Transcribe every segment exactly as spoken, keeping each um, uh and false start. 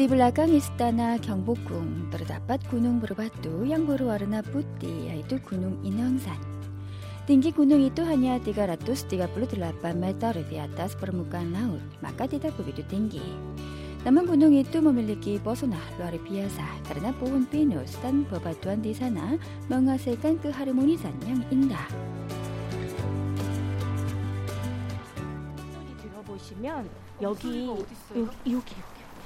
Di belakang istana Gyeongbokgung terdapat gunung berbatu yang berwarna putih, yaitu Gunung Inheungsan. Tinggi gunung itu hanya tiga ratus tiga puluh delapan meter di atas permukaan laut, maka tidak begitu tinggi. Namun gunung itu memiliki pesona luar biasa karena pohon pinus dan bebatuan di sana menghasilkan keharmonisan yang indah. 들어보시면 여기 여기 여기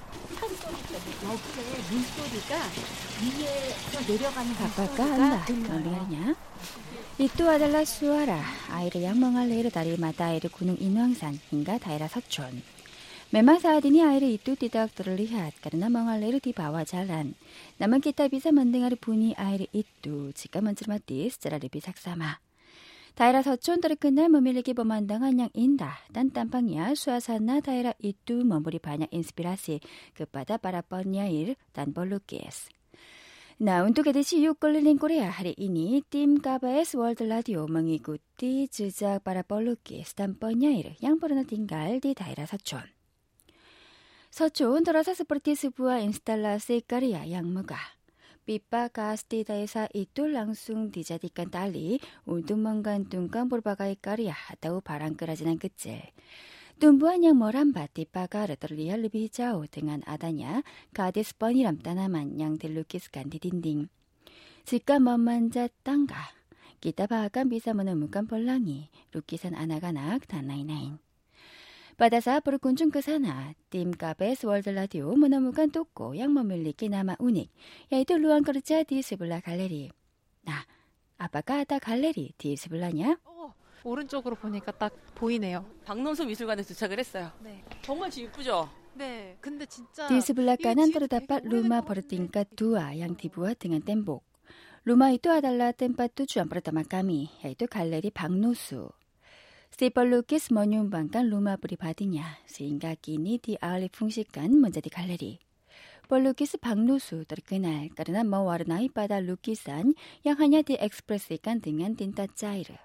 여기에 물소리가 위에서 내려가는 Apakah Anda mendengarnya? Itu adalah suara air yang mengalir dari mata air Gunung Inheungsan hingga daerah Seocheon. Memang saat ini air itu tidak terlihat karena mengalir di bawah jalan. Namun kita bisa mendengar bunyi air itu jika mencermati secara lebih saksama. Daerah Seocheon terkenal memiliki pemandangan yang indah dan tampaknya suasana daerah itu memberi banyak inspirasi kepada para penyair dan pelukis. Nah, untuk edisi yuk keliling Korea hari ini, tim K B S World Radio mengikuti jejak para pelukis dan penyair yang pernah tinggal di daerah Seocheon. Seocheon terasa seperti sebuah instalasi karya yang megah. Pipa gas di desa itu langsung dijadikan tali untuk menggantungkan berbagai karya atau barang kerajinan kecil. Tumbuhan yang merambat di pagar terlihat lebih jauh dengan adanya gadis penyiram tanaman yang dilukiskan di dinding. Jika memanjat tangga, kita bahkan bisa menemukan pelangi, lukisan anak-anak, dan lain-lain. Pada saat berkunjung ke sana, tim K B S World Radio menemukan toko yang memiliki nama unik, yaitu ruang kerja di sebelah galeri. Nah, apakah ada galeri di sebelahnya? 어, 오른쪽으로 보니까 딱 보이네요. 박nom수 미술관에 도착을 했어요. 네. 정말 집 이쁘죠? 네, 근데 진짜 Di sebelah 이 kanan 집 terdapat 되게 rumah 오래된 것 bertingkat dua yang dibuat dengan tembok. Rumah itu adalah tempat tujuan pertama kami, yaitu galeri Baknosu. Si pelukis menyumbangkan rumah pribadinya, sehingga kini dialih fungsikan menjadi galeri. Pelukis Baknosu terkenal karena mewarnai pada lukisan yang hanya diekspresikan dengan tinta cair.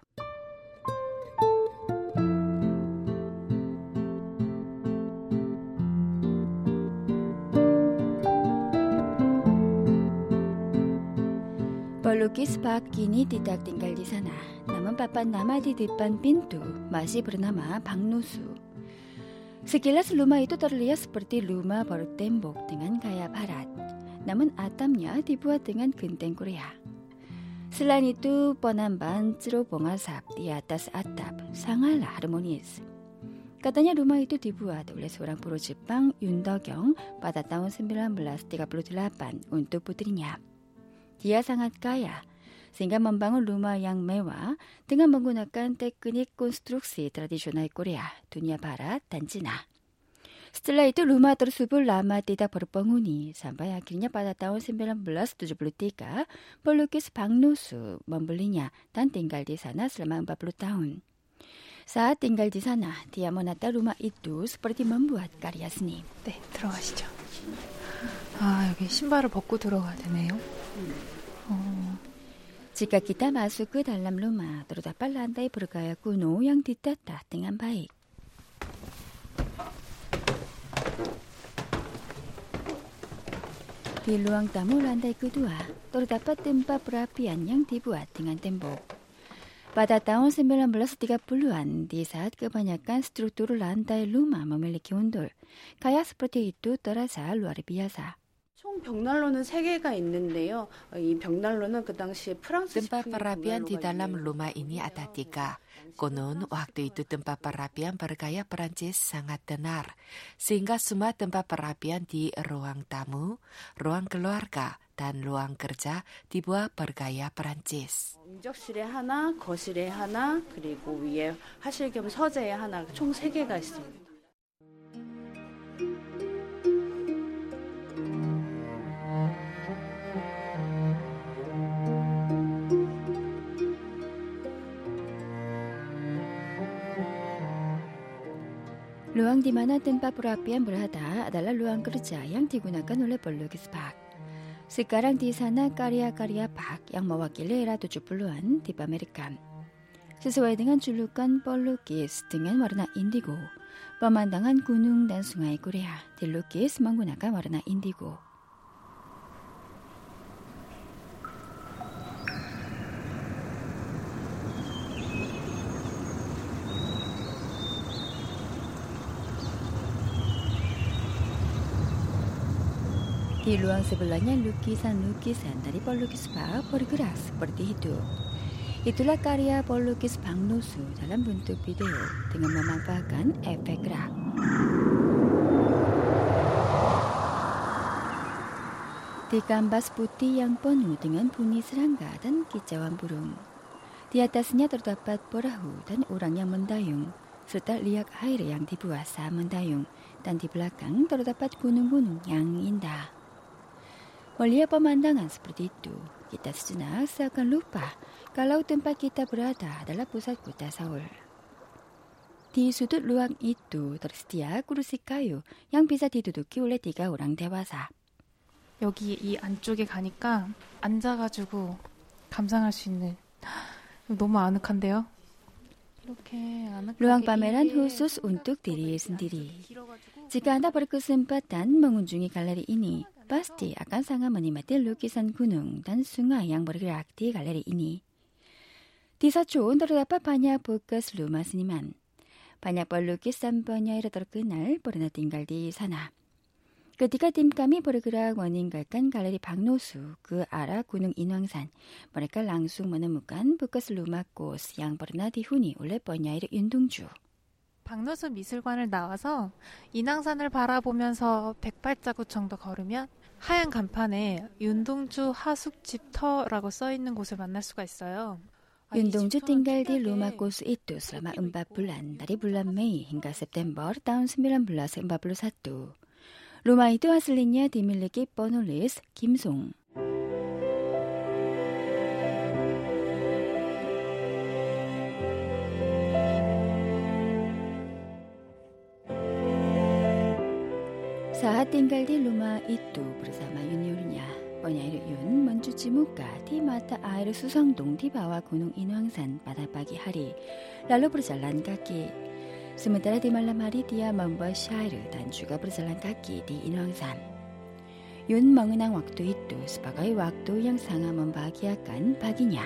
Pelukis Pak kini tidak tinggal di sana, namun papan nama di depan pintu masih bernama Baknosu. Sekilas rumah itu terlihat seperti rumah bertembok dengan gaya barat, namun atapnya dibuat dengan genteng Korea. Selain itu, penambahan cerobong asap di atas atap sangatlah harmonis. Katanya rumah itu dibuat oleh seorang buruh Jepang, Yoon Do-kyung, pada tahun sembilan belas tiga puluh delapan untuk putrinya. Dia sangat kaya, sehingga membangun rumah yang mewah dengan menggunakan teknik konstruksi tradisional Korea, dunia barat, dan Cina. Setelah itu rumah tersebut lama tidak berpenghuni, sampai akhirnya pada tahun sembilan belas tujuh puluh tiga, pelukis Baknosu membelinya dan tinggal di sana selama empat puluh tahun. Saat tinggal di sana, dia menata rumah itu seperti membuat karya seni. 네, 들어가시죠. 아, 여기 신발을 벗고 들어가야 되네요. 어. Jika kita masuk ke dalam rumah, terdapat lantai bergaya kuno yang ditata dengan baik. Di ruang tamu lantai kedua, terdapat tempat perapian yang dibuat dengan tembok. Pada tahun sembilan belas tiga puluhan, di saat kebanyakan struktur lantai rumah memiliki undul, gaya seperti itu terasa luar biasa. 총 벽난로는 세 개가 있는데요. 이 벽난로는 그 당시에 프랑스 Tempat perapian di dalam rumah ini ada tiga. Konon waktu itu tempat perapian bergaya Perancis sangat tenar, sehingga semua tempat perapian di ruang tamu, ruang keluarga, dan ruang kerja dibuat bergaya Perancis. 응접실에 하나, 거실에 하나, 그리고 위에 화실 겸 서재에 하나, 총 세 개가 있습니다. Ruang di mana tempat perapian berada adalah ruang kerja yang digunakan oleh pelukis Pak. Sekarang di sana karya-karya Pak yang mewakili era tujuh puluhan dipamerkan. Sesuai dengan julukan pelukis dengan warna indigo, Pemandangan gunung dan sungai Korea dilukis menggunakan warna indigo. Di ruang sebelahnya lukisan-lukisan dari pelukis Pak bergerak seperti itu. Itulah karya pelukis Bang Nosu dalam bentuk video dengan memanfaatkan efek gerak. Di kanvas putih yang penuh dengan bunyi serangga dan kicauan burung. Di atasnya terdapat perahu dan orang yang mendayung, serta liak air yang dibuat saat mendayung, dan di belakang terdapat gunung-gunung yang indah. Melihat pemandangan seperti itu, kita sejenak seakan lupa kalau tempat kita berada adalah pusat kota Seoul. Di sudut ruang itu tersedia kursi kayu yang bisa diduduki oleh tiga orang dewasa. 여기 이 안쪽에 가니까 앉아가지고 감상할 수 있는 너무 아늑한데요? 이렇게 아늑하게 Ruang pameran khusus untuk diri sendiri. Jika Anda berkesempatan mengunjungi galeri ini, pasti akan sangat menikmati lukisan gunung dan sungai yang bergerak di galeri ini. Di Seoul terdapat banyak bekas rumah seniman. Banyak pelukis dan penyair terkenal pernah tinggal di sana. Ketika tim kami bergerak meninggalkan galeri Bang Nosu ke arah Gunung Inwangsan, mereka langsung menemukan bekas rumah kos yang pernah dihuni oleh penyair Yun Dong-ju. 박노수 미술관을 나와서 인왕산을 바라보면서 백발자국 정도 걸으면 하얀 간판에 윤동주 하숙집터라고 써있는 곳을 만날 수가 있어요. Yun Dong-ju tinggal di rumah kos itu selama empat bulan dari bulan Mei hingga September tahun sembilan belas empat puluh satu. Rumah itu aslinya dimiliki penulis Kim Song. Saat tinggal di rumah itu bersama juniornya, penyair Yun mencuci muka di mata air Susangdong di bawah Gunung Inwangsan pada pagi hari, lalu berjalan kaki. Sementara di malam hari dia membuat syair dan juga berjalan kaki di Inwangsan. Yun mengenang waktu itu sebagai waktu yang sangat membahagiakan baginya.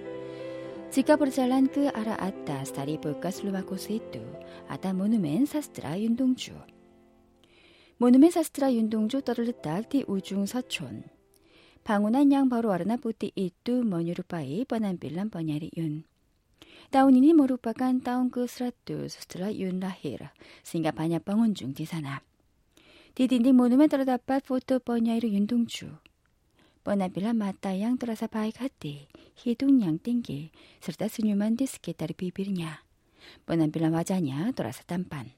Jika berjalan ke arah atas dari bekas rumah kos itu, ada monumen sastra Yun Dong-ju. Monumen sastra Yun Dong-ju terletak di ujung Seoul. Bangunan yang berwarna putih itu menyerupai penampilan penyair Yun. Tahun ini merupakan tahun ke seratus setelah Yun lahir, sehingga banyak pengunjung di sana. Di dinding monumen terdapat foto penyair Yun Dong-ju. Penampilan mata yang terasa baik hati, hidung yang tinggi, serta senyuman di sekitar bibirnya. Penampilan wajahnya terasa tampan.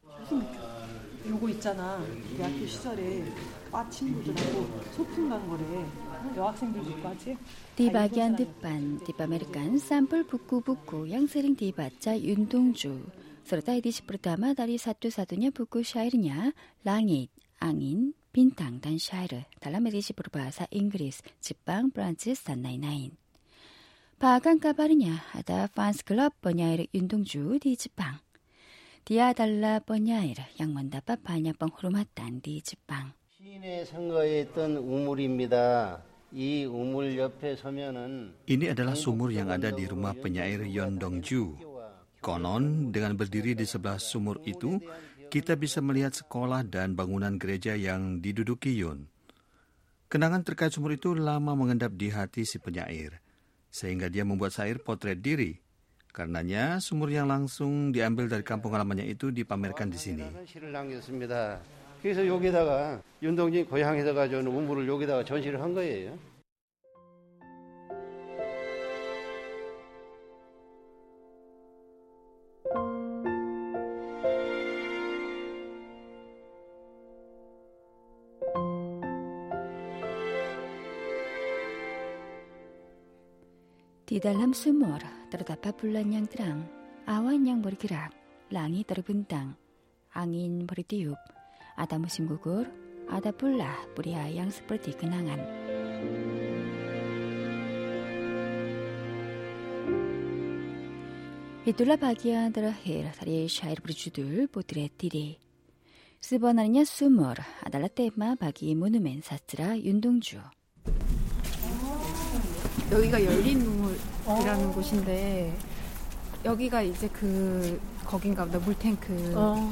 요거 있잖아. 대학교 시절에 과 친구들하고 소풍 간 거래. 여학생들도 과지? Di bagian depan dipamerkan sampel buku-buku yang sering dibaca Yun Dong-ju, serta edisi pertama dari satu-satunya buku syairnya Langit, Angin, Bintang dan Syair dalam edisi berbahasa Inggris, Jepang, Prancis, dan lain-lain. Bahkan kabarnya ada fans club penyair Yun Dong-ju di Jepang. Dia adalah penyair yang mendapat banyak penghormatan di Jepang. 시인의 상가에 있던 우물입니다. 이 우물 옆에 서면은 Ini adalah sumur yang ada di rumah penyair Yun Dong-ju. Konon, dengan berdiri di sebelah sumur itu, kita bisa melihat sekolah dan bangunan gereja yang diduduki Yun. Kenangan terkait sumur itu lama mengendap di hati si penyair, sehingga dia membuat syair potret diri. Karenanya, sumur yang langsung diambil dari kampung halamannya itu dipamerkan di sini. 시를 남겼습니다. 그래서 여기다가 윤동주 고향에서 가져온 우물을 여기다가 전시를 한 거예요. Di dalam sumur terdapat bulan yang terang, awan yang bergerak, langit terbentang, angin bertiup, ada musim gugur, ada pula pria yang seperti kenangan. Itulah bagian terakhir dari syair berjudul Potret Diri. Sebenarnya sumur adalah tema bagi monumen sastra 윤동주. 여기가 열린 눈물이라는 곳인데 여기가 이제 그 거긴가 보다 물탱크. 어.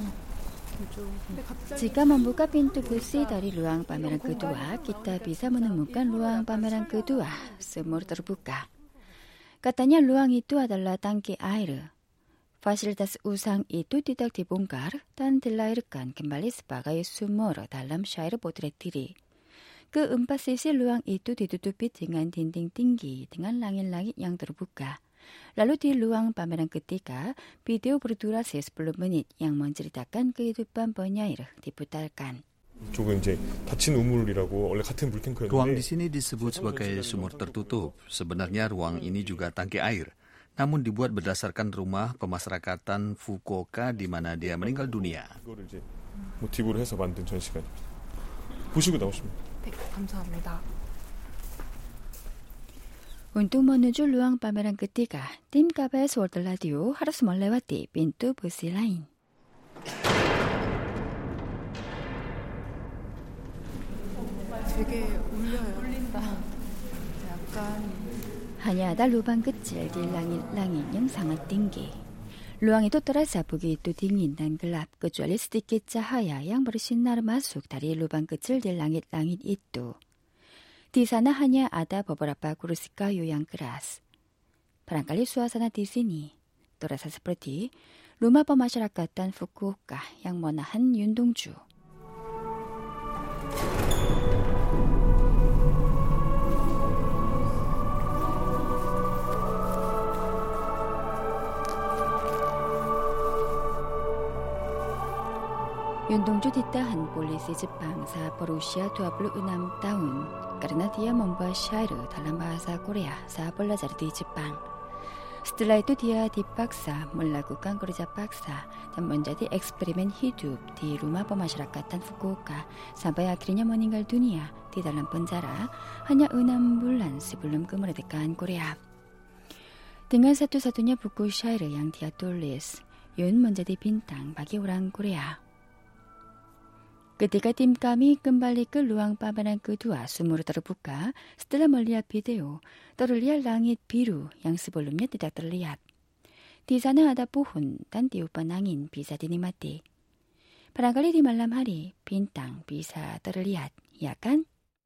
Jika membuka pintu besi dari ruang pameran kedua, kita bisa menemukan ruang pameran kedua, sumur terbuka. Katanya ruang itu adalah tangki air. Fasilitas usang itu tidak dibongkar dan dilahirkan kembali sebagai sumur dalam syair Potret Diri. Keempat sisi ruang itu ditutupi dengan dinding tinggi dengan langit-langit yang terbuka. Lalu di ruang pameran ketiga, video berdurasi sepuluh menit yang menceritakan kehidupan penyair diputarkan. 이쪽은 이제 닫힌 우물이라고 원래 같은 물탱크였는데 Ruang di sini disebut sebagai sumur tertutup. Sebenarnya ruang ini juga tangki air, namun dibuat berdasarkan rumah pemasyarakatan Fukuoka di mana dia meninggal dunia. 이거를 이제 모티브로 해서 만든 전시관입니다. 보시고 나오시면. 네, 감사합니다. Untuk menuju ruang pameran ketiga, tim K B S World Radio harus melewati pintu besi lain. 되게 울려요. 울린다. 약간 Hanya ada lubang kecil di langit-langit yang sangat tinggi. Ruang itu terasa begitu dingin dan gelap kecuali sedikit cahaya yang bersinar masuk dari lubang kecil di langit-langit itu. Di sana hanya ada beberapa kursi kayu yang keras. Barangkali suasana di sini terasa seperti rumah pemasyarakatan Fukuoka yang menahan 윤동주. 윤동주 ditahan polisi Jepang saat berusia dua puluh enam tahun karena dia membuat syair dalam bahasa Korea saat belajar di Jepang. Setelah itu dia dipaksa melakukan kerja paksa dan menjadi eksperimen hidup di rumah pemasyarakatan Fukuoka sampai akhirnya meninggal dunia di dalam penjara hanya enam bulan sebelum kemerdekaan Korea. Dengan satu-satunya buku syair yang dia tulis, Yun menjadi bintang bagi orang Korea. Ketika tim kami kembali ke ruang pameran kedua sumur terbuka, setelah melihat video, terlihat langit biru yang sebelumnya tidak terlihat. Di sana ada pohon dan tiupan angin bisa dinikmati. Barangkali di malam hari, bintang bisa terlihat, ya kan?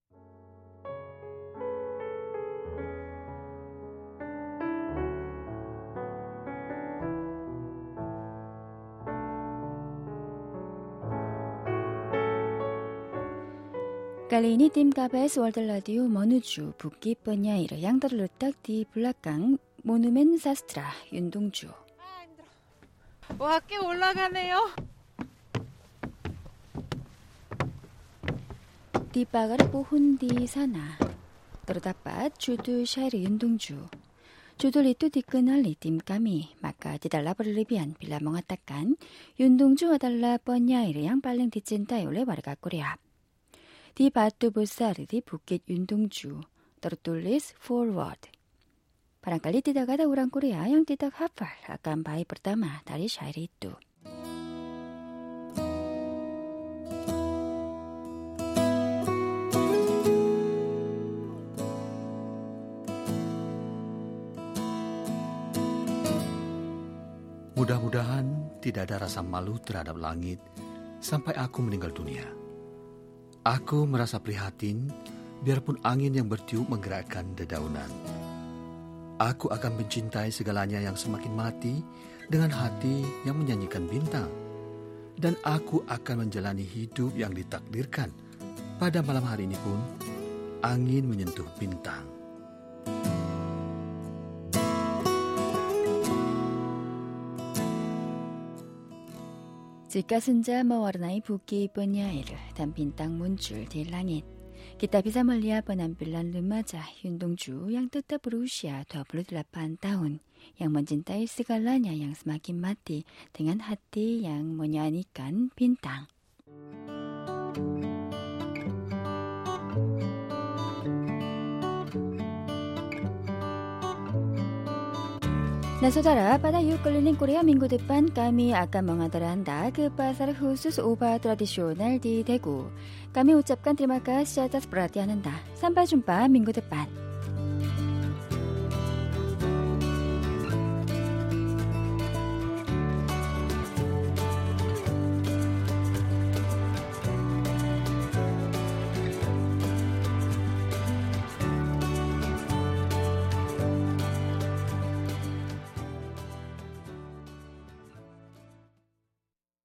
Kali ini tim K B S World Radio menuju Bukit Penyair yang terletak di belakang Monumen Sastra 윤동주. 와, 꽤 올라가네요. Di pagar pohon di sana terdapat judul syair 윤동주. Judul itu dikenali tim kami, maka tidaklah berlebihan bila mengatakan 윤동주 adalah penyair yang paling dicintai oleh warga Korea. Di batu besar di Bukit 윤동주 tertulis forward. Barangkali tidak ada orang Korea yang tidak hafal akan bait pertama dari syair itu. Mudah-mudahan tidak ada rasa malu terhadap langit sampai aku meninggal dunia. Aku merasa prihatin, biarpun angin yang bertiup menggerakkan dedaunan. Aku akan mencintai segalanya yang semakin mati dengan hati yang menyanyikan bintang. Dan aku akan menjalani hidup yang ditakdirkan. Pada malam hari ini pun, angin menyentuh bintang. Jika senja mewarnai Bukit Penyair dan bintang muncul di langit, kita bisa melihat penampilan remaja 윤동주 yang tetap berusia dua puluh delapan tahun, yang mencintai segalanya yang semakin mati dengan hati yang menyanyikan bintang. Nah saudara, pada yuk keliling Korea minggu depan kami akan mengantaranda ke pasar khusus obat tradisional di Daegu. Kami ucapkan terima kasih atas perhatian Anda. Sampai jumpa minggu depan.